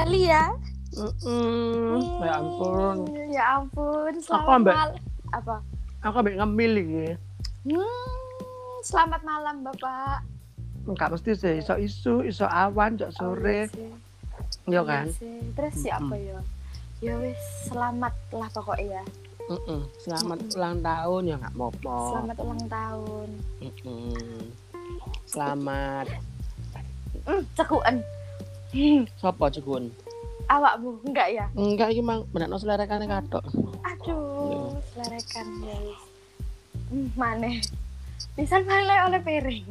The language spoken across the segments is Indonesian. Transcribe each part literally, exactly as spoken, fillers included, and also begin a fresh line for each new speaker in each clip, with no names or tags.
kali ya.
Mm-mm. Ya ampun.
Ya ampun,
Aku
selamat
ambek
malam. Apa?
aku ambek ngemil iki.
Hmm, selamat malam Bapak.
Enggak mesti sih iso isu, iso awan, jok sore.
Oh, iya sih.
Iya
Iya
kan?
sih. Terus ya apa ya? Ya wis selamat lah pokoknya ya.
Mm-mm. Selamat
Mm-mm.
ulang tahun ya enggak apa-apa.
Selamat ulang tahun.
Mm-mm. Selamat.
Hmm, cekuan. Hmm,
Sopo Jukun?
awakmu enggak ya?
Enggak iki mang benakno selerekane kathok.
Aduh, selerekan ya wis. Hmm, maneh. Pisan maneh oleh piring.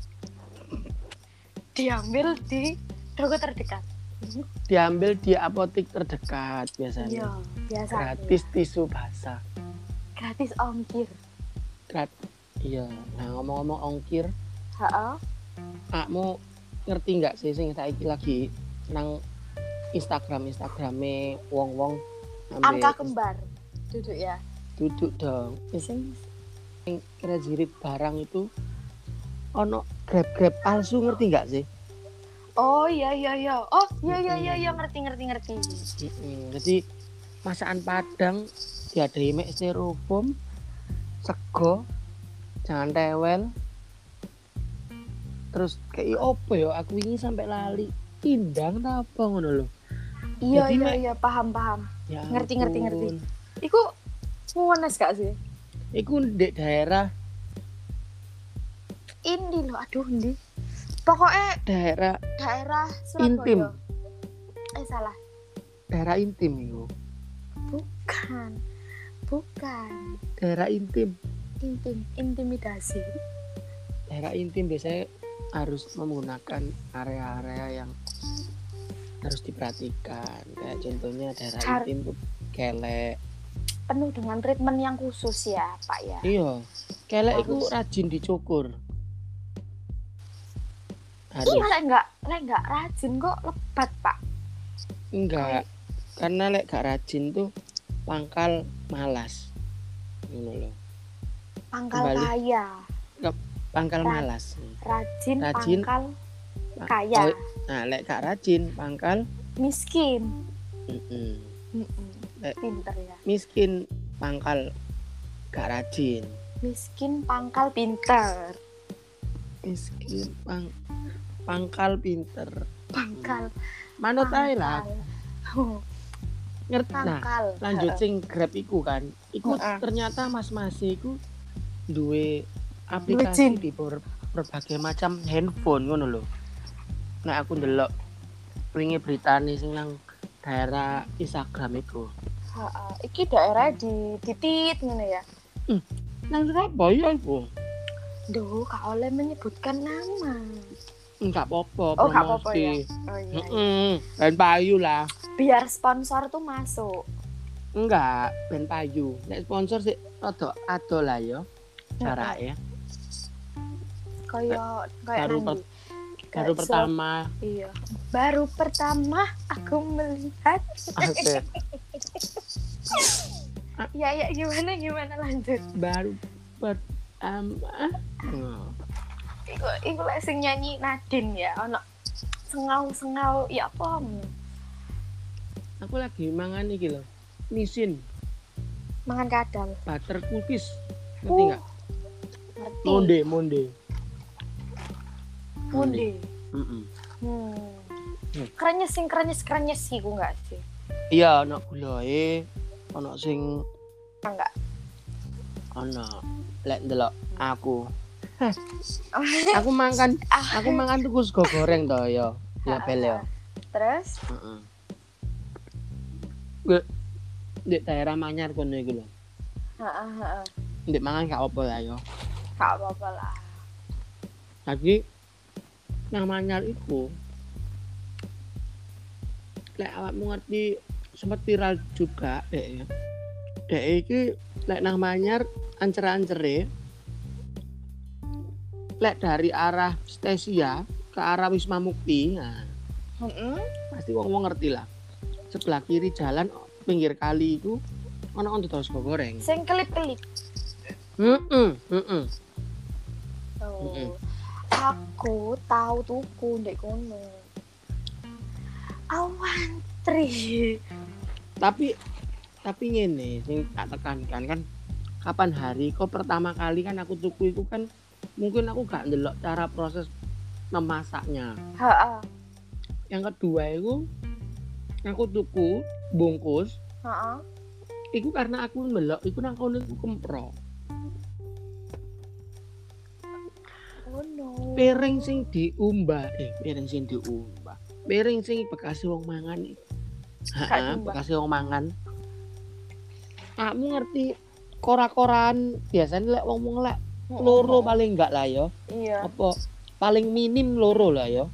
Diambil di toko terdekat.
Diambil di apotik terdekat biasanya.
Iya, biasa.
Gratis tisu basah.
Gratis ongkir.
Grat. Iya. Nah ngomong-ngomong ongkir,
Heeh.
akmu ngerti nggak sih sing saiki lagi nang Instagram Instagrame wong-wong
Angka kembar. Duduk ya.
duduk dong. Sing sing kredit barang itu ono grab-grab palsu ngerti nggak sih?
Oh iya iya iya. Oh iya iya iya iya ngerti ngerti ngerti.
Mm-mm. Jadi masakan Padang diadai mek styrofoam, sego, jangan tewel. Terus kayak opo ya aku ini sampai lali pindang ta apa ngono lho.
Iya
Jadi,
iya
Mek-
iya paham paham.
Ya
Ngerti, ngerti, ngerti.
ampun.
Iku ngones gak sih?
Iku di daerah
Ini loh aduh ndi. Pokoknya
daerah
daerah Surabaya.
intim,
Eh salah.
daerah intim iku.
Bukan. Bukan.
Daerah intim.
Intim, intimidasi.
Daerah intim biasanya harus menggunakan area-area yang harus diperhatikan. Kayak contohnya daerah
Car-
intim tuh kelek.
Penuh dengan treatment yang khusus ya, Pak ya.
Iya. Kelek iku
Harus.
rajin dicukur. Harus.
Iya lek enggak, lek enggak rajin kok lebat, Pak.
Enggak. Karena lek gak rajin tuh pangkal malas. Ngono lho.
Pangkal
Kembali.
kaya.
Pangkal
Ra-
malas.
Rajin,
Rajin.
pangkal
Pa-
kaya.
oh, Nah, lek gak rajin pangkal
Miskin.
mm-mm.
Mm-mm.
Lek
Pinter ya.
miskin pangkal gak rajin.
Miskin pangkal pinter.
Miskin pang pangkal pinter.
Pangkal.
Manut ae lah.
Oh,
Ngerti. Nah,
pangkal.
lanjut
Heeh.
sing Grab iku kan. Iku
Heeh.
ternyata mas-mas iku duwe
Duwe
aplikasi
jin.
di ber- berbagai macam handphone ngono lho. Nah, aku ndelok wingi beritane sing nang daerah Instagram iku.
Heeh. Iki daerah di Titit ngono ya.
Nang Surabaya iku.
Duh, gak oleh menyebutkan nama.
Enggak apa-apa
Oh, gak apa-apa
promosi.
ya. Oh iya. iya.
Heeh. Ben payu lah.
Biar sponsor tuh masuk.
Enggak, ben payu. Nek sponsor sih rada ado lah ya. Carake.
Kayak kayak
Baru
nanti.
Baru
Kayak
pertama.
Iya. Baru pertama aku melihat.
Oke.
Ya ya gimana gimana lanjut.
Baru pertama. Oh.
Iku iku lek sing nyanyi Nadine ya, ono sengau-sengau ya apa?
Aku lagi mangan iki lho. Nisin,
Mangan kadal.
butter cookies. Ngerti
Uh,
enggak?
Ngerti.
Monde, monde.
Munde.
Heeh.
Hmm.
Hmm.
Krenyes sing krenyes krenyes sih ku enggak sih?
Iya, ono gulae, ono sing
Enggak.
ono lek ndelok aku. Aku makan aku makan tuku sego goreng to ya. Ya bel ya.
Terus
Heeh. Gue di daerah Manyar kono iku lho.
heeh heeh.
Ndek mangan gak apa lah ya.
Gak apa-apa lah.
Lagi nang Manyar iku lek awakmu ngerti sempat viral juga dek ya. Dek iki lek nang Manyar ancer-ancere lek dari arah Stesia ke arah Wisma Mukti, nah
Heeh.
pasti wong-wong ngerti lah. Sebelah kiri jalan pinggir kali itu ono ono terus goreng.
Sing kelip-kelip.
Heeh, heeh.
Oh.
Mm-mm.
Aku tahu tuku ndek kono. Awan tri.
Tapi tapi ngene sing tak tekankan kan kapan hari kok pertama kali kan aku tuku itu kan mungkin aku gak ndelok cara proses memasaknya.
Heeh.
Yang kedua itu aku tuku bungkus.
Heeh.
Iku karena aku ndelok iku nang kono iku kempro.
Oh no.
Piring sing diumbah, eh piring sing diumbah. Piring sing bekas wong mangan iki. Heeh, bekas wong mangan. Kamu ngerti kora-koran biasanya lek wong-wong lek loro paling enggak lah ya.
Iya.
Apa paling minim loro lah ya.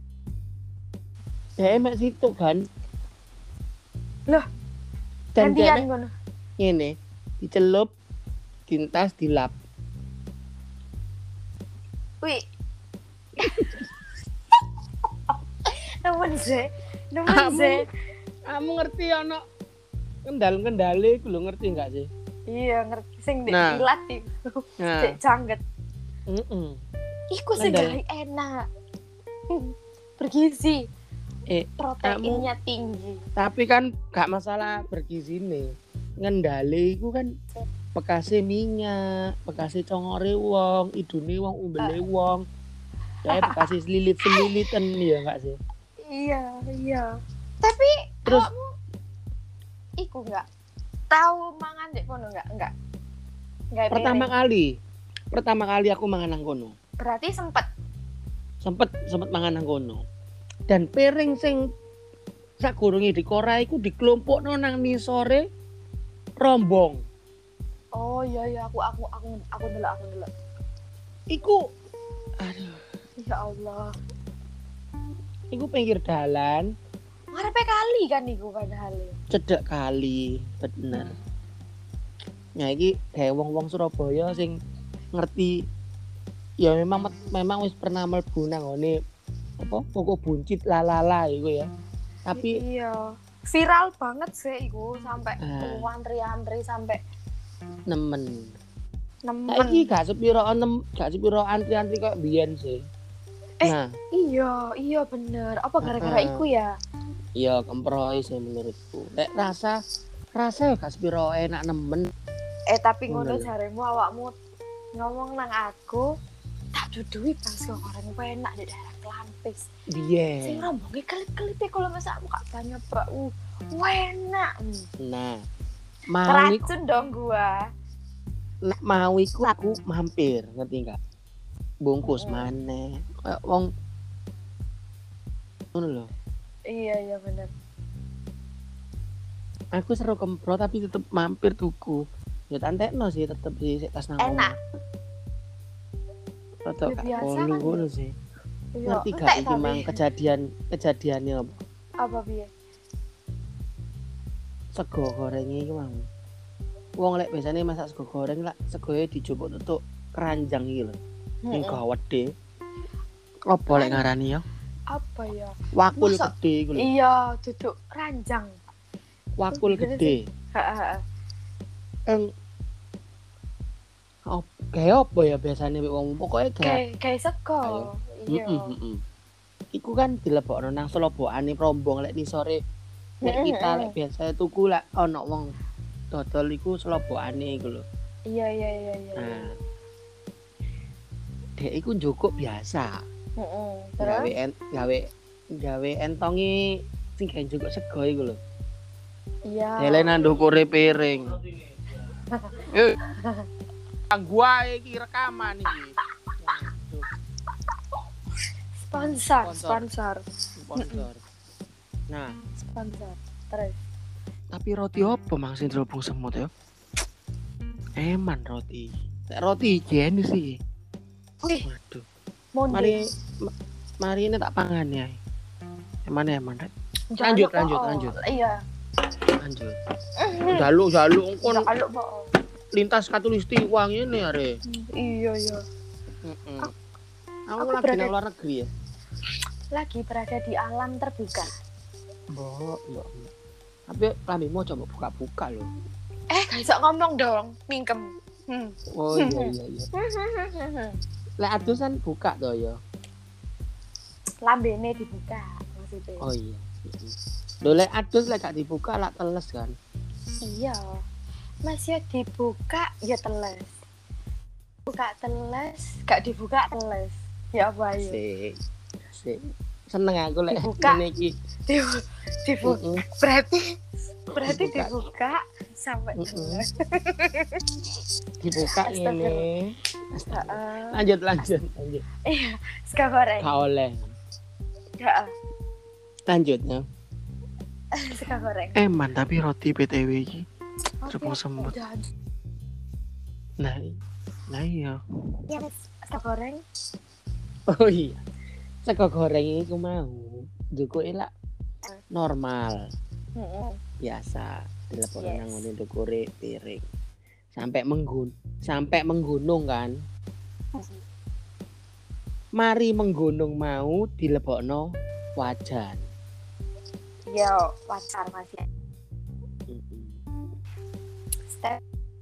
Ya emak situ kan.
Loh,
dan
gantian ngono.
Ngene, dicelup, dintas, dilap.
Wih. Nemen sih. Nemen
Kamu-
sih.
Kamu ngerti ana kendal-kendale iku lho ngerti enggak sih?
Iya, ngerti sing ndek
Nah.
ilat iku.
Nah,
Cek jangget.
heeh.
Iku
Ngendal.
segala enak. Bergizi,
Eh,
proteinnya tinggi.
tapi kan gak masalah bergizi nih. Ngendale iku kan bekase minyak, bekase congore wong, idune wong, umbele wong. Kayak bekase selilit-selilitan ya enggak sih?
Iya, iya. Tapi
Terus
awakmu iku enggak tahu mangan dek kono enggak? Enggak. Enggak
pertama kali, pertama kali aku mangan nang kono.
Berarti sempet.
Sempet sempet mangan nang kono. Dan piring sing sakurunge dikora iku dikelompokno nang nisore rombong.
Oh iya iya aku aku aku aku ndelok aku ndelok.
Iku aduh,
Ya Allah.
iku pinggir dalan,
Ngarepe kali kan iku padahal.
cedek kali, bener. Nah iki kayak wong-wong Surabaya sing ngerti ya memang memang wis pernah mlebu nang ngene apa pokok buncit lalala iku ya. Tapi
Iya. Viral banget sih iku sampai
Ah.
antri-antri sampai
nemen.
nemen.
Saiki gak sepiro nem gak sepiro antri-antri kok biyen sih.
Eh.
Nah,
Iya, iya bener. Apa gara-gara
Ah.
iku ya?
iya kemproy sih menurutku. Lek rasa rasa ya gak sepiro enak nemen.
Eh tapi ngono
Ngono lho.
jaremu awakmu ngomong nang aku tak dudui pas lo orang enak di daerah Klampis. Sing
Biyen.
rombonge kelip-kelip kalau masak aku gak banyak bak. Uh, enak.
Nah, mau iku
Racun dong gua.
nek mau iku aku mampir, ngerti enggak? Bungkus
Mm-mm.
maneh. Kayak wong ngono lho.
Iya iya bener.
Aku seru kempro tapi tetep mampir tuku. Ya tantekno sih tetep sih sik tas nang
Enak.
Rada
Ya,
gak
biasa
kolu
kan,
ngono sih.
Iya,
Ngerti
entek
gak iki
tapi.
mang kejadian kejadiannya apa?
Apa piye?
Sego goreng iki mang. Wong lek biasane masak sego goreng lak segoe dijupuk tutuk keranjang iki lho. Ning
Mm-mm.
gawede. Apa lek ngarani ya?
Apa ya?
Wakul
Masa-
gede iku lho.
Iya, duduk ranjang.
Wakul
Gede
gede.
Heeh.
Eng op kayak apa ya biasanya wong pokoknya kayak
Kayak kayak sego.
Ayo.
Iya.
Mm-mm, mm-mm. Iku kan dilebokno nang selobokane rombong lek ni sore lek
Mm-mm,
kita
mm-mm.
lek biasa tuku lek ana wong dodol iku selobokane iku lho.
Iya iya iya iya.
Nah. Dek iku njukuk biasa.
Heeh.
Gawe
Terus
en, gawe gawe entongi sing gawe njukuk sego iku lho.
iya.
Dele nang ndukure piring. Eh. Kang gua iki rekaman iki. Waduh,
Sponsor,
Sponsor.
sponsor,
sponsor. Nah,
sponsor. Terus.
tapi roti apa mang sing terhubung semut ya? Eman roti. Nek roti higienis sih.
Wih,
Waduh.
monde.
Mari ma- mari ini tak pangan ya. Eman eman Rek.
Jangan
lanjut,
lupa,
lanjut,
oh.
lanjut.
Iya.
Lanjut. Jaluk jaluk kon
Jangan lupa. oh.
lintas katulistiwa ngene are.
Iya iya.
Heeh.
Aku
Aku lagi
berada-
nang luar negeri ya.
Lagi berada di alam terbuka.
Mbok, mbok. Tapi lambimu coba buka-buka loh.
Eh, gak bisa ngomong dong, mingkem. Hmm.
Oh iya iya iya. Lek adusan buka toh ya.
Lambene dibuka maksudnya.
Oh iya. Lho lek adus lek gak dibuka lak teles kan.
Iya. Masih dibuka ya teles. Buka teles, gak dibuka teles. Ya apa ya?
Sik. Sik. Seneng aku lek
Dibuka.
ngene iki.
Dibu- dibuka.
Heeh.
Berarti berarti
Dibuka.
dibuka sampai
Mm-mm.
teles.
Dibuka ngene.
Heeh.
Lanjut lanjut lanjut.
Iya, sego goreng.
Gak oleh.
Heeh.
Lanjut ya.
Sego goreng.
Eman tapi roti B T W iki.
Oke,
Cepet semut.
udah.
Nah, nah iya.
Ya, Mas. Sego goreng.
Oh iya. Sego goreng iku mau njukuke lak normal,
Heeh.
biasa. Dilepokno
Yes.
nang ngene ndukure piring. Sampai menggun sampai menggunung kan. Mari menggunung mau dilebokno wajan.
Yo, pacar masih.
Heeh.
Step.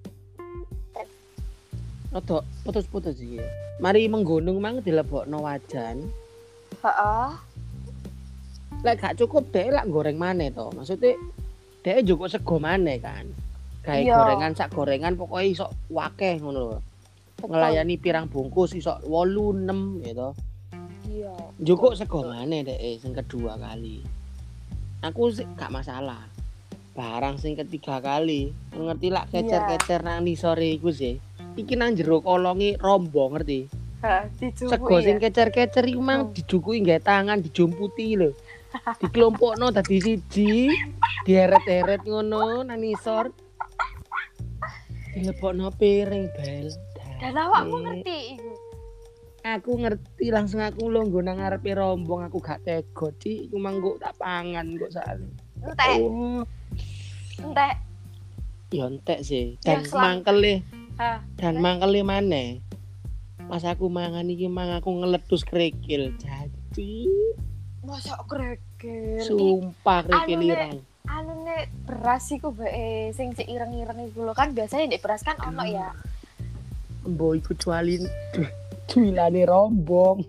Rodok putus-putus iki. Mari menggunung mang dilebokno wajan.
Heeh.
Lek gak cukup dhek lak goreng maneh to. Maksudnya dhek njukuk sego maneh kan. Gawe
Iya.
gorengan sak gorengan pokoknya iso wakeh ngono lho.
Betul.
Ngelayani pirang bungkus iso wolu enam gitu.
Iya.
Njukuk sego maneh dhek sing kedua kali. Aku sih gak masalah. Barang sing ketiga kali, ngerti lak kecer-kecer nang nisore iku sih. Iki nang jero kolongi rombo ngerti.
Heeh, dicukuki.
Sego sing
Ya?
kecer-kecer iku mang
Hmm.
dijukuki nggae tangan dijumputi lho. Dikelompokno dadi siji, dieret-eret ngono nang nisor. Dilebokno piring bel.
Dan awakmu
Dadi,
ngerti iku.
aku ngerti langsung aku lungguh nang ngarepe rombong aku gak tego Ci, iku mang kok tak pangan kok sakne.
Entek,
Oh,
entek.
ya entek sih.
Ya,
Dan
selang-
mangkele,
Hah.
dan mangkele maneh. Pas aku mangan iki mang aku ngeletus kerikil. Jadi
Masa kregel.
sumpah kerikil
anu, Nek.
ireng.
Anu nek beras iku bae sing sik ireng-ireng iku lho kan biasanya nek beras kan ono ya.
Mbok iku cualin cuilane rombong.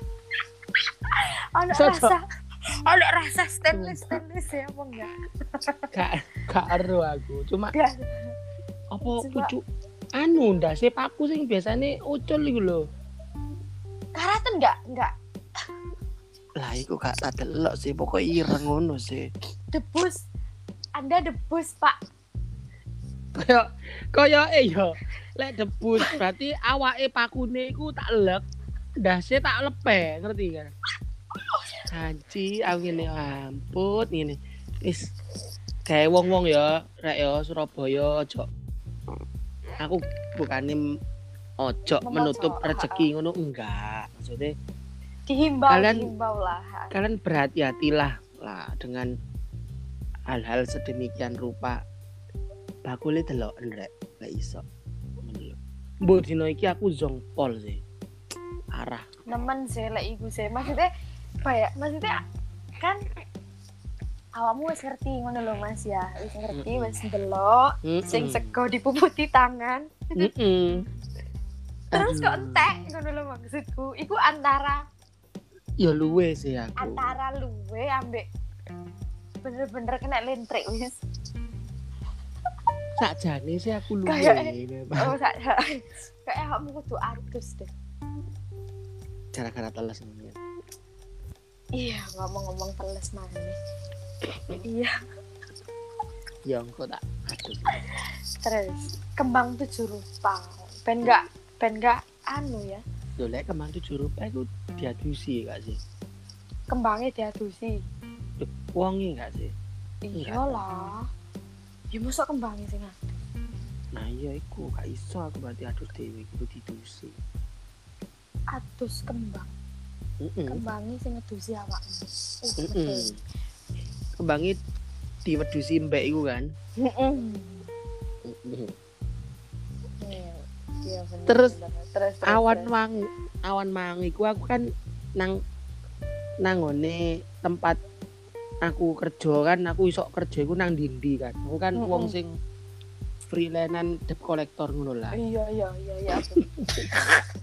Ono
Cocok.
rasa. Ono rasa stainless stainless ya apa enggak?
Gak gak ero aku. Cuma
Enggak.
apa
Cuma-
pucuk anu ndase paku sing biasane ucul iku lho.
Karaten enggak? Enggak.
Lah iku gak tak delok sih, pokok ireng ngono sih.
Debus. Anda debus, Pak.
Kaya kaya eh yo. Lek debus berarti awake pakune iku tak lek, ndase tak lepe, ngerti kan? Anci, aku ngene ampun ngene. Wis gawe wong-wong ya, rek ya Surabaya aja. Aku bukane ojo
Memojo,
menutup
ha-ha.
rezeki ngono enggak. Maksudnya
Dihimbau,
Kalian-
dihimbau lah.
kalian berhati-hatilah lah dengan hal-hal sedemikian rupa. Bakule delok rek, gak iso. Ngono lho. Mbok dino iki aku zongpol sih. Arah.
Nemen sih lek iku sih. Maksudnya apa ya? Maksudnya kan awakmu wis ngerti ngono lho Mas ya. Wis ngerti,
Mm-mm.
wis ndelok sing
Mm-mm.
sego dipuputi tangan.
Mm-mm.
Terus kok
Aduh.
entek ngono lho maksudku. Iku antara
Ya luwe sih aku.
antara luwe ambek bener-bener kena lentrik wis.
Sakjane sih aku luwe.
Kayak-
memang.
Oh, sak kayak awakmu kudu adus deh.
Gara-gara teles ngene.
Iya, ngomong-ngomong teles mana. Iya,
Ya engko tak aduh.
terus kembang tujuh rupa. Ben enggak ben enggak anu ya.
Lho lek kemang tujuh rupiah iku diadusi gak sih?
Kembangnya diadusi.
Lho, wonge gak sih? Enggak.
Iyalah. Ya mosok kembangnya sing adus.
Nah iya iku gak iso aku berarti adus dhewe iku didusi.
Adus kembang.
Heeh.
Kembangnya sing ngedusi awakmu. Uh,
Heeh.
betul.
Kembange diwedusi mbek iku kan.
Heeh.
Heeh.
Iya, iya bener.
Terus
bener. terus, terus
Awan
terus.
mang awan mang iku aku kan nang nang ngone tempat aku kerja kan aku iso kerja iku nang dindi kan. Aku kan
Mm-mm.
wong sing freelance debt collector ngono lah.
Iya iya iya iya.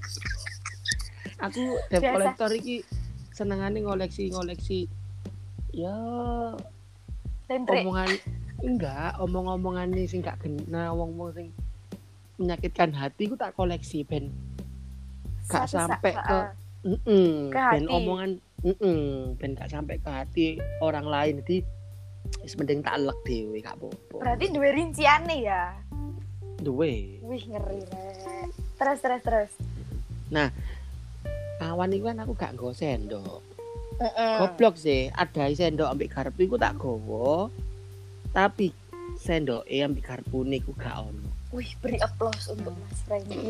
Aku debt
Biasa.
collector iki senengane ngoleksi-ngoleksi Ya
Lentrik.
omongan enggak, omong-omongan nih sing gak kena wong-wong sing menyakitkan hati ku tak koleksi ben gak
Satu sa-
sampai
ha-
ke
ha.
mm
Ke
ben
hati.
omongan mm ben gak sampai ke hati orang lain. Jadi wis mending tak elek dhewe gak apa-apa.
Berarti duwe rinciane ya.
Duwe.
Wih ngeri rek. Terus terus terus.
Nah, kawan iku kan aku gak nggo sendok.
Heeh.
Goblok sih, ada sendok ambek garpu iku tak gowo. Tapi sendoke ambek garpune iku gak ono.
Wih, beri aplaus untuk Mas Randy.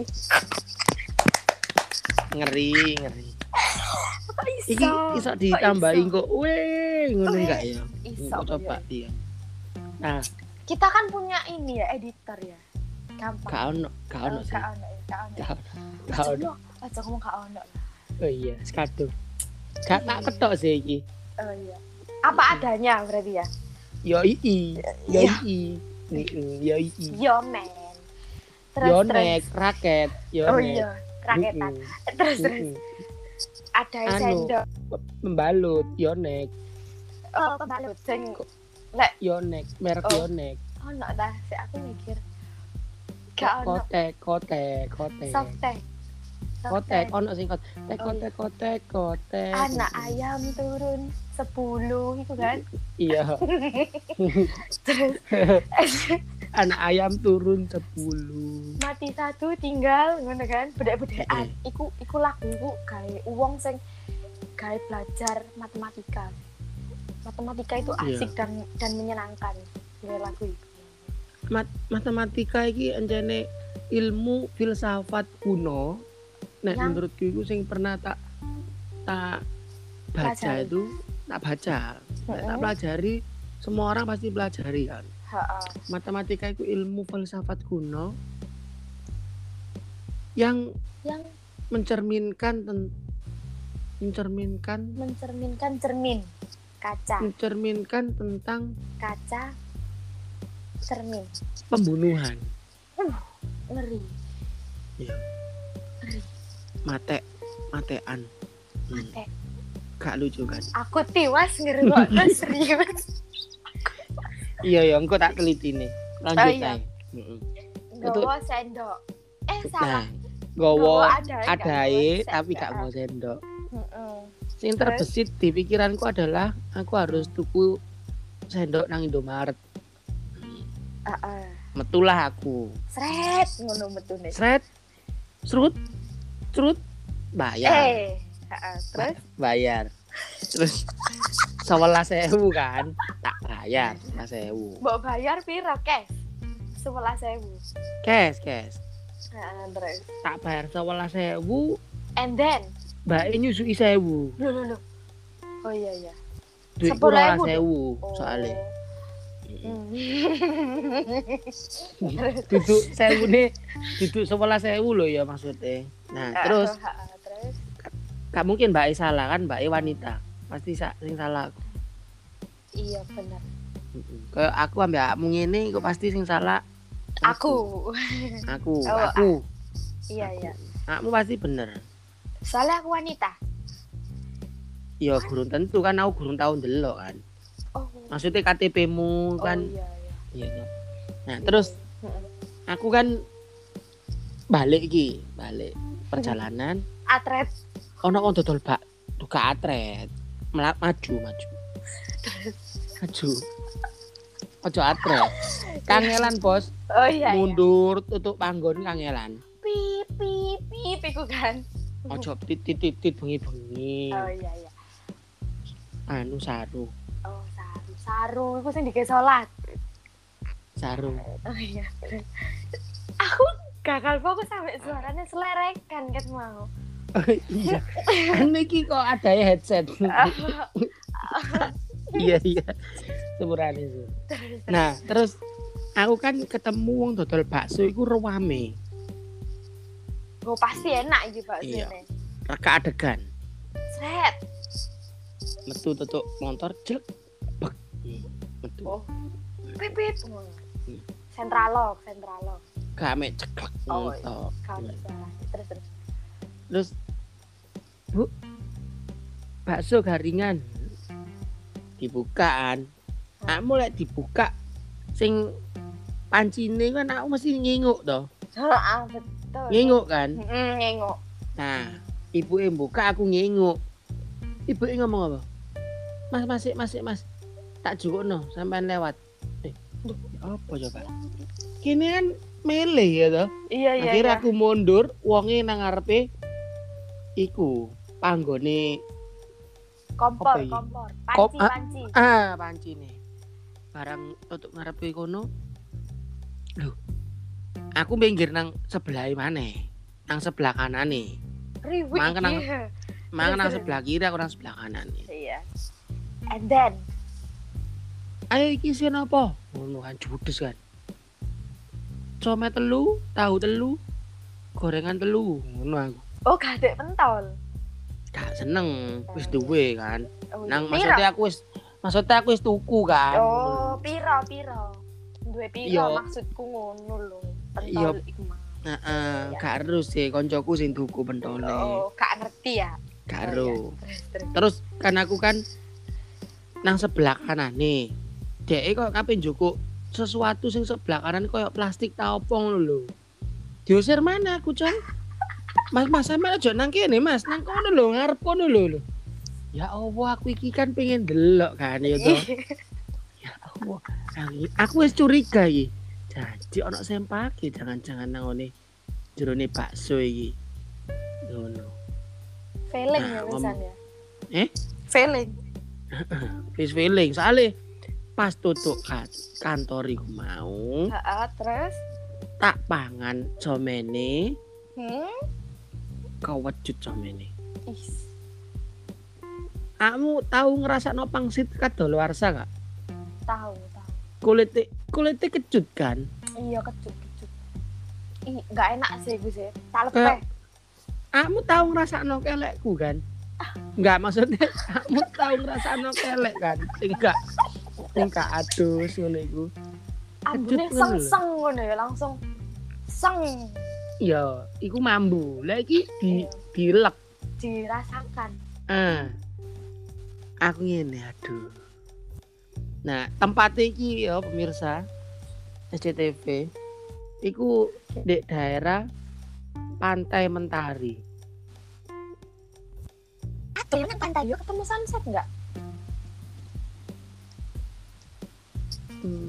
Ngeri, ngeri.
Kok iso?
Iki iso ditambahi
iso?
kok. Weh, ngono
Weh,
enggak ya?
iso,
Kok coba
iya.
iya. Nah,
Kita kan punya ini ya, editor ya. Gampang.
gak ono, gak ono sih.
Gak ono ya, gak ono.
Gak ono. Gak
Aja
ono.
ngomong, aja ngomong gak ono lah.
Oh iya, sekadung. Gak tak ketok sih iki.
Oh iya. Apa adanya berarti ya?
Yo ii, yo
Iya.
ii. Heeh, yo ii.
Yo men. Terus
Yo
terus.
nek raket, yo
Oh
nek.
iya, raketan.
Mm-mm.
Terus terus.
Mm-mm.
Ada
Anu.
sendok.
Membalut, yo nek,
Oh, kebalut sing lek
yo nek, merek
Oh.
yo nek.
ono dah, sik aku mikir. Gak ono.
Kotek, kotek, kotek.
Softtek.
Kotek, ono sing kotek,
Oh,
kotek, kotek, kotek.
Anak ayam turun sepuluh itu kan.
Iya,
Terus
anak ayam turun sepuluh.
mati satu tinggal ngono kan. Bedek-bedekan. Iku iku lagu iku gawe wong sing gawe belajar matematika. Matematika itu
Iya.
asik dan dan menyenangkan. Gawe lagu itu.
Mat matematika iki anjane ilmu filsafat kuno. Nek
Yang-
menurutku itu sing pernah tak tak baca
Pelajari.
itu tak baca. Nek tak
Mm-mm.
pelajari, semua orang pasti pelajari kan.
Heeh.
Matematika itu ilmu filsafat kuno yang
Yang
mencerminkan ten, mencerminkan
mencerminkan cermin. Kaca,
mencerminkan tentang
kaca, cermin.
pembunuhan.
Ngeri.
Iya.
Ngeri.
Mate, matean. Hmm,
Mate.
gak lucu kan?
Aku tiwas ngerungokno serius.
Iya ya, engko tak teliti nih. Lanjut
Oh, iya.
ae. Heeh.
Nggawa sendok. Eh salah.
Nah, gowo
Nggawa adae, gak
adae
nggawa
tapi
sendok.
gak mau sendok.
Heeh.
Sing
Terus?
terbesit di pikiranku adalah aku harus tuku sendok nang Indomaret.
Heeh.
Metulah aku.
Sret ngono metune.
Sret, serut, serut, bayar,
Eh, heeh. Terus
bayar. Terus sewelas sewu kan, tak bayar sewelas sewu.
mbok bayar piro, Kes? sebelas ribu.
Cash, cash.
Heeh, terus.
Tak bayar sewelas sewu,
And then,
mbake nyusui sewu.
lho lho lho. Oh iya iya.
Duitku
Sepuluh
rolas
ribu,
sewu
Oh.
soalnya.
Hmm.
Duduk sewune, duduk sewelas sewu loh ya maksudnya. Nah, terus
Heeh, terus
gak mungkin mbak E salah kan, mbak E wanita pasti sa- sing salah aku.
iya benar.
Kayak aku ambil akmu ngene kok pasti sing salah
Aku.
aku
Oh,
aku
Iya iya.
akmu pasti bener.
Soalnya aku wanita.
Ya gurung tentu kan, aku gurung tau ndelok kan,
Oh.
maksudnya K T P-mu
Oh
kan.
iya iya.
Iya. Nah terus
Heeh.
aku kan balik iki balik perjalanan
Atret.
ono wong dodol bak duka atret Mela- maju maju maju ojo atret kangelan bos.
Oh iya iya.
Mundur tutup panggon kangelan
Pip pip pip iku kan.
ojo titit titit bengi bengi
Oh iya iya.
anu saru
Oh saru. Saru iku sing dike salat.
saru
Oh iya. Aku gagal fokus sampai suaranya selerekan kan mau.
iya anu iki kok ada ya headset. Iya iya sepurane itu. Nah terus aku kan ketemu wong dodol bakso iku rame.
Gue pasti enak iki Pak
Iya.
sini.
Reka adegan
Sret.
metu tutup motor jelek bek metu
Oh. Pipit.
Hmm.
Sentralog, sentralog.
gak mek ceklek
Oh,
mentok.
Kalau salah. Terus terus.
Terus Bu bakso garingan dibukaan. Aku lek dibuka sing pancine kan aku mesti nginguk toh.
Heeh, betul.
Nginguk kan?
Heeh, nginguk.
Nah, ibuke buka aku nginguk. Ibuke ngomong apa? Mas, masih, masih, Mas. Tak jukukno sampean lewat. Eh, duh, apa coba? Kini kan mele ya toh.
Iya, iya.
Akhirnya
iya.
aku mundur, wonge nang ngarepe iku panggone
kompor,
apa iki?
kompor.
Kop-
Panci,
ah,
panci.
Ah, panci nih. Barang untuk ngarepe kono. Loh. Aku minggir nang sebelah maneh. Nang sebelah kanane.
Riwik.
Mangke nang
iya.
mangke nang
Terus,
sebelah kiri, aku nang sebelah kanan.
Iya. And then
Ayo iki sing apa? Ngono kan judes kan. Some telu, tahu telu, gorengan telu, ngono aku.
oh gak ada pentol.
Gak seneng, wis duwe kan.
Oh,
Nang
piro?
maksudnya aku wis maksudnya aku wis tuku kan.
Oh, piro piro. Duwe piro
Iya.
maksudku ngono lho.
Iya.
Pentol iku mah.
Heeh, gak harus sih koncoku sing tuku pentole.
Oh, gak ngerti ya.
Gak
Oh,
ero.
iya. Terus terus.
Terus kan aku kan nang sebelah kanan nih. Dek kok kape njukuk sesuatu sing sebelah kanan koyo plastik ta opo ngono lho. Diusir mana aku, Cong? Mas, Mas sampe aja nang kene, Mas. Nang kono lho, ngarep kono lho. Ya Allah, aku iki kan pengen delok kan ya toh. Ya Allah, aku wis curiga iki. Jadi ono sempake jangan-jangan nang ngene jerone bakso iki. Ngono.
Feeling
Nah,
ya
ngom-
wisan ya.
Eh?
Feeling.
Wis feeling soalnya pas tutuk kan kantor iku mau
Heeh, terus
tak pangan somene
hmm?
kewejut somene.
Is.
Kamu tahu ngerasa no pangsit kadaluarsa gak?
Tahu, tahu.
Kulitnya kulitnya kecut kan?
Iya, kecut, kecut. Ih, gak enak sih gue sih. Tak
Kayak-
lepeh.
Kamu tahu ngerasa no kelekku kan? Enggak, maksudnya kamu tahu ngerasa no kelek kan? Enggak. Enggak adus ngono iku.
Ambune
Kecut ngono lho.
seng-seng ngono ya, langsung seng
Iya, iku mambu. Lah iki di
Iya.
dilek.
dirasakan.
Ah. Aku ngene aduh. Nah, tempat iki ya pemirsa S C T V iku di daerah Pantai Mentari.
Aduh, nang pantai yo ketemu sunset enggak?
Hmm.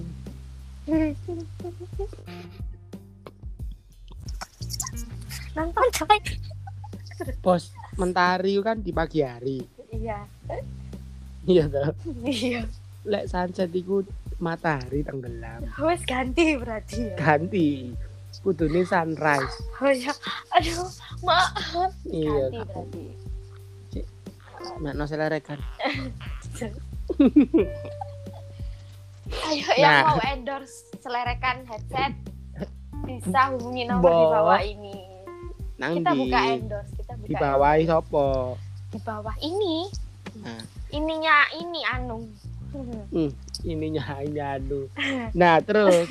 Nang pantai.
Bos, Mentari kan di pagi hari.
Iya.
Iya toh.
Iya.
Lek sunset iku matahari tenggelam.
Wes ganti berarti ya.
Ganti. Kudune sunrise.
Oh ya. Aduh, maaf.
Iya.
Ganti berarti.
Nek no selerekan.
Ayo
Nah.
yang mau endorse selerekan headset bisa hubungi nomor di
Bo.
bawah ini.
Nang
Kita
di
buka endorse, kita buka
di bawah
endorse.
sopo?
Di bawah ini.
Nah.
Ininya ini anu.
Hmm, ininya hanya anu. Nah, terus.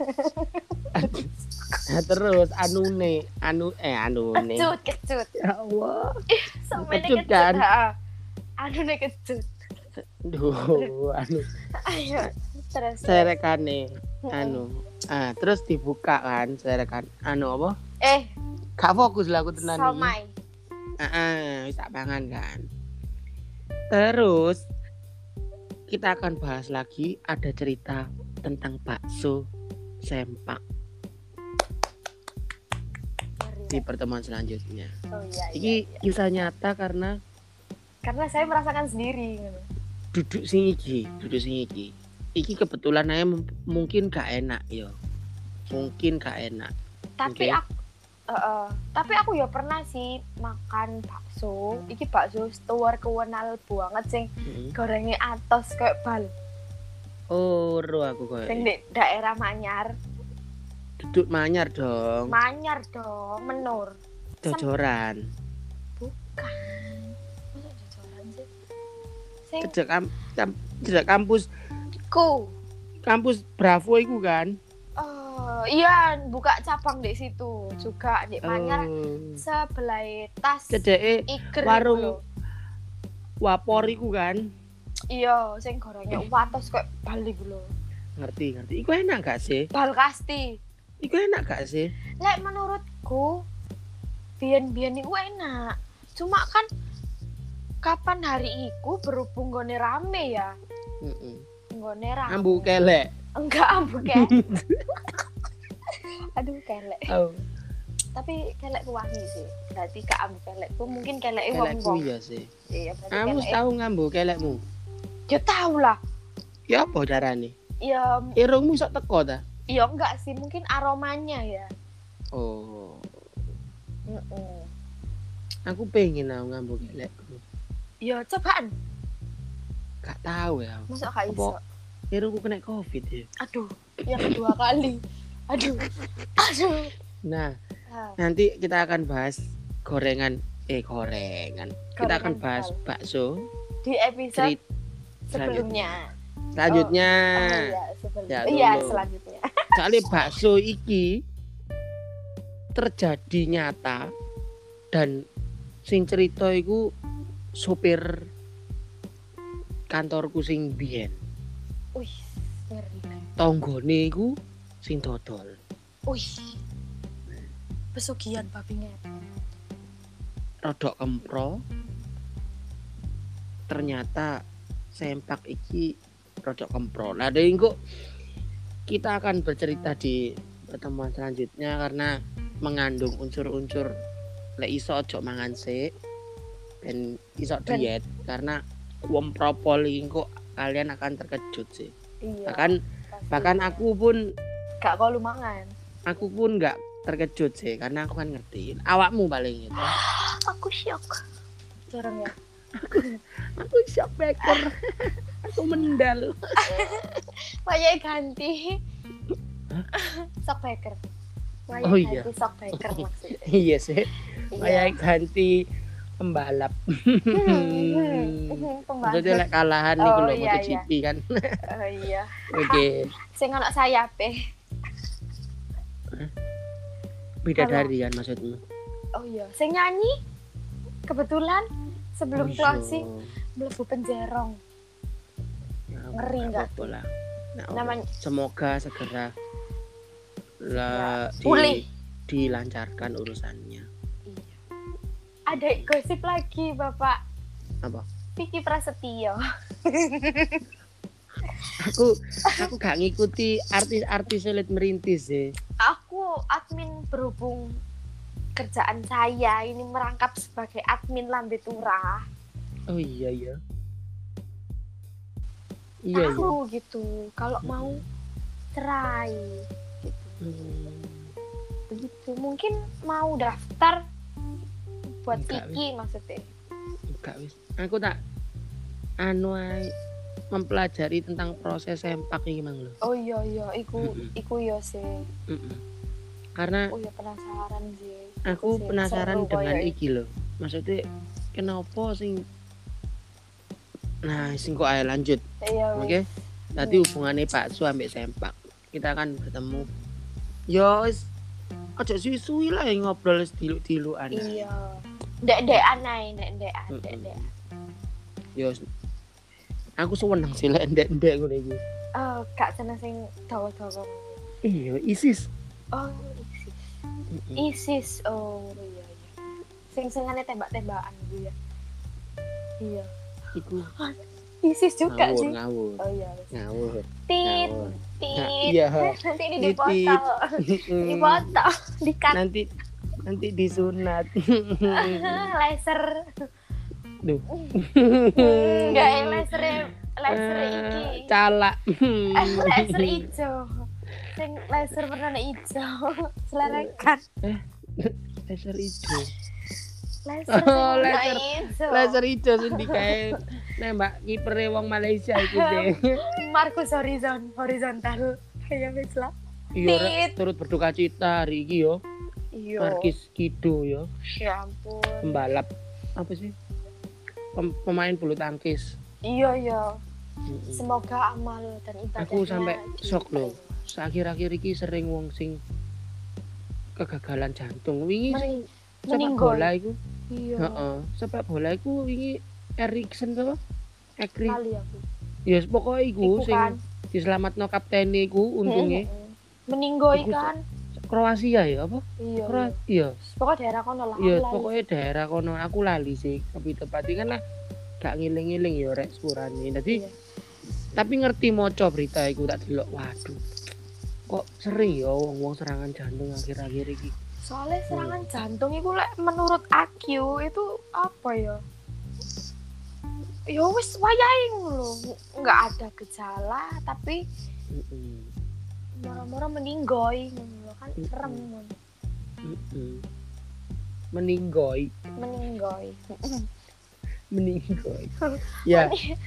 Nah, terus anune, anu eh anune.
Kecut, kecut.
Ya Allah.
Sampai
Kecut,
kecut
kan?
kan? Anu nih kecut.
Duh, anu
Ayo, terus.
serekane anu. Ah, terus dibuka kan serekan anu apa?
Eh,
Gak fokus lah aku tenan iki.
somai.
Heeh, wis tak pangan kan. Terus kita akan bahas lagi ada cerita tentang bakso sempak di pertemuan selanjutnya.
Oh iya, iya,
Iki
iya.
kisah nyata karena
Karena saya merasakan sendiri.
duduk sing iki, duduk sing iki. Iki kebetulan aja mem- mungkin gak enak yo. Mungkin gak enak.
Tapi
Oke.
aku eh, eh, tapi aku ya pernah sih makan bakso. Iki bakso stuwer kewenal banget sing
Heeh.
gorengnya atos kayak bal.
Oh, ro aku koyo.
Sing di daerah Manyar.
Duduk manyar dong.
Manyar dong, menur.
Jojoran.
Bukan. Masa jajaran sih? Sing
Cedek kam- kam- cedek kampus
ku.
kampus Bravo iku kan.
Oh, iya buka cabang di situ juga di Manyar
Oh.
sebelah tas
Cedeke
Iker
warung
iku lho.
Wapor iku kan.
Iya, sing gorengnya wates kayak balik lho.
Ngerti, ngerti. Iku enak gak sih?
Bal kasti.
Iku enak gak sih?
Lek menurutku biyen-biyen iku enak. Cuma kan kapan hari iku berhubung gone rame ya.
Heeh.
Gone rame.
Ambu kelek.
Enggak ambu kelek. Aduh kelek.
Oh.
Tapi kelekku wangi sih. Berarti gak ambu kelekku, mungkin keleke
Kelekku
wong-wong.
iya sih.
Iya, berarti
Kamu
kelek.
tahu ngambu kelekmu?
Ya tahu lah.
Ya apa carane?
Ya
Irungmu sok teko ta?
ya enggak sih, mungkin aromanya ya.
Oh.
Heeh.
Aku pengen aku ngambu kelekku.
Ya cobaan.
Gak tahu ya.
Masa gak iso?
Apa? Irungku kena covid ya.
Aduh, yang kedua kali. Aduh. Aduh.
Nah,
Ah,
nanti kita akan bahas gorengan eh gorengan. Kita akan
Gorengan
bahas
bal.
bakso
di episode
cerit
sebelumnya.
selanjutnya.
Oh iya, sebelumnya.
Ya,
Iya,
dulu.
selanjutnya.
Soalnya bakso iki terjadi nyata dan sing cerita iku sopir kantorku sing biyen.
Wih, ngeri.
Tonggone iku sing dodol.
Wih. Pesugihan babi ngepet.
Rodok kempro. Ternyata sempak iki rodok kempro. Nah, dari kok kita akan bercerita di pertemuan selanjutnya karena mengandung unsur-unsur lek iso ojo mangan sik ben iso
Ben.
diet karena wong propol iki kok kalian akan terkejut sih.
Iya.
Bahkan
pasti.
bahkan aku pun
gak kau lu mangan.
aku pun nggak terkejut sih karena aku kan ngertiin awakmu paling itu.
Aku shock. Jarang ya.
Aku shock baker. Aku mendal.
Wayai ganti. Sok baker. Wayai
Oh iya.
ganti sok baker maksudnya.
Iya sih.
Iya.
Kayak ganti pembalap.
Hmm,
Maksudnya lek kalahan
Oh,
niku lho
iya,
MotoGP kan.
Oh iya.
Oke.
Sing ana sayape.
Bidadari kan maksudmu.
Oh iya, sing nyanyi kebetulan sebelum
Oh,
closing
iya.
mlebu penjerong.
Ya,
Ngeri nggak
apa-apa lah. Nah,
Namanya
semoga segera lah di-
pulih.
dilancarkan urusannya.
Iya. Ada gosip lagi, Bapak.
Apa?
Vicky Prasetyo.
Aku aku gak ngikuti artis-artis elit merintis sih.
Aku admin berhubung kerjaan saya ini merangkap sebagai admin Lambe Turah.
Oh iya iya. Iya iya.
Tahu gitu. Kalau mau cerai gitu.
Hmm.
Begitu. Mungkin mau daftar buat
Enggak,
Vicky maksudnya.
Enggak wis. Aku tak anu ae mempelajari tentang proses sempak iki mang lho.
Oh iya iya, iku
Mm-mm.
iku yo sih.
Mm-mm. Karena
Oh iya penasaran sih.
aku
Sih,
penasaran
seru
dengan
koyo
iki lho. Maksudnya kenapa sing Nah, sing kok ae lanjut.
Iya.
Oke.
wis.
Tadi
Hmm.
hubungannya Pak Su ambek sempak. Kita akan bertemu. Yo wis aja suwi-suwi lah yang ngobrol diluk-dilukan.
Iya. Ndek-ndekan ae, ndek-ndekan,
Mm-mm.
ndek-ndekan.
Yo aku seneng sih lek ndek-ndek ngono iki.
Oh, gak seneng sing dawa-dawa.
Iya, ISIS.
Oh, ISIS.
Mm-mm.
ISIS. Oh, iya iya. Sing sengane tembak-tembakan gitu ya. Iya.
Iku
ISIS juga
ngawur,
sih.
ngawur.
Oh iya. wis.
Ngawur.
Tit,
Ngawur.
tit.
Nah, iya.
Nanti ini
Tit,
dipotong.
Mm.
Dipotong, dikat
nanti nanti disunat.
laser.
Duh.
Enggak ya laser laser
Eh,
iki.
Calak.
Eh, laser ijo. Sing laser warna ijo. Selerakan.
Laser hijau.
Laser
Oh,
sing warna
laser.
ijo.
Laser hijau sing dikae nembak kiper wong Malaysia iku deh.
Marcus Horizon horizontal. Kayak wis lah.
Iya, Rek,
Tit.
turut berduka cita hari iki yo.
Iya.
Markis Kido yo,
Ya ampun.
pembalap apa sih? Pem- pemain bulu tangkis.
Iya iya.
Mm-mm.
Semoga amal dan ibadahnya.
Aku sampai shock loh.
diterima.
Akhir-akhir iki sering wong sing kegagalan jantung. Wingi sing
Mening-
sepak
meninggal.
bola iku.
Iya.
Heeh, sepak bola iku wingi Erikson to. Ekri.
Lali aku.
Ya yes, pokoknya iku,
Iku
sing
kan.
diselamatno kaptene iku untungnya.
Meninggoy
Iku
kan.
Kroasia ya apa?
Iya.
Kroasia. Iya.
Pokoknya daerah kono lah.
Iya, pokoknya daerah kono aku lali sih. Tapi tepatnya kan lah gak ngiling-ngiling ya rek sepurane. Dadi iya. Tapi ngerti maca berita iku tak delok. Waduh. Kok sering ya wong-wong serangan jantung akhir-akhir iki.
Soalnya serangan hmm. jantung itu lek menurut aku itu apa ya? Ya wis wayahe ngono. Enggak ada gejala tapi heeh. Moro-moro meninggoy ngono kan serem ngono.
Heeh. Meninggoy.
Meninggoy.
Meninggoy. Ya.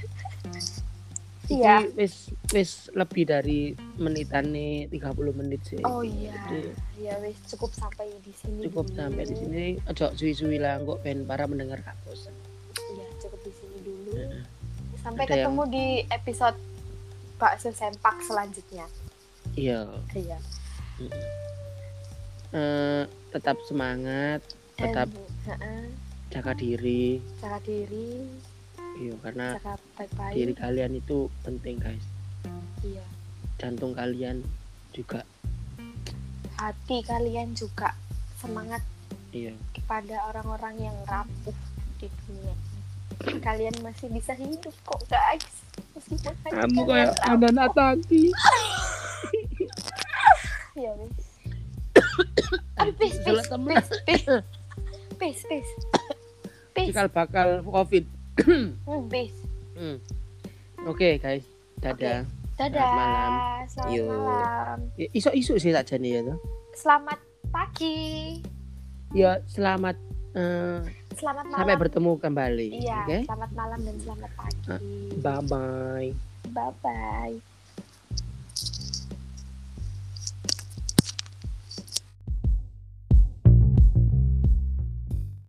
Iya. Wis wis lebih dari menitane tiga puluh menit sih.
Oh iya. Jadi, ya wis cukup sampai di sini.
Cukup dulu. Sampai di sini. Ojo suwi-suwi lah kok ben para mendengar kampus.
Iya, cukup di sini dulu. Uh, sampai
Ada
ketemu
yang...
di episode Bakso Sempak selanjutnya.
Iya.
Iya.
Uh, uh, tetap semangat, tetap
Dan, uh,
jaga diri.
Jaga diri.
Iya, karena
baik-baik.
Diri kalian itu penting, guys.
Iya.
Jantung kalian juga.
Hati kalian juga. Semangat.
Iya.
Kepada orang-orang yang rapuh di dunia. Kalian masih bisa hidup kok, guys. Meskipun
kamu kayak anak tadi.
Ya, wis. Aduh, pis, pis, pis, pis. Pis, pis. Pis.
Cikal bakal Covid.
Hmm, bis.
Hmm. Oke, okay, guys. Dadah.
Okay. Dadah. Selamat malam. Selamat Yo. malam.
Ya, isu-isu sih tak jane ya toh.
Selamat pagi.
Ya, selamat uh,
selamat malam.
Sampai bertemu kembali.
Iya,
okay?
Selamat malam dan selamat pagi.
Uh, bye bye.
Bye bye.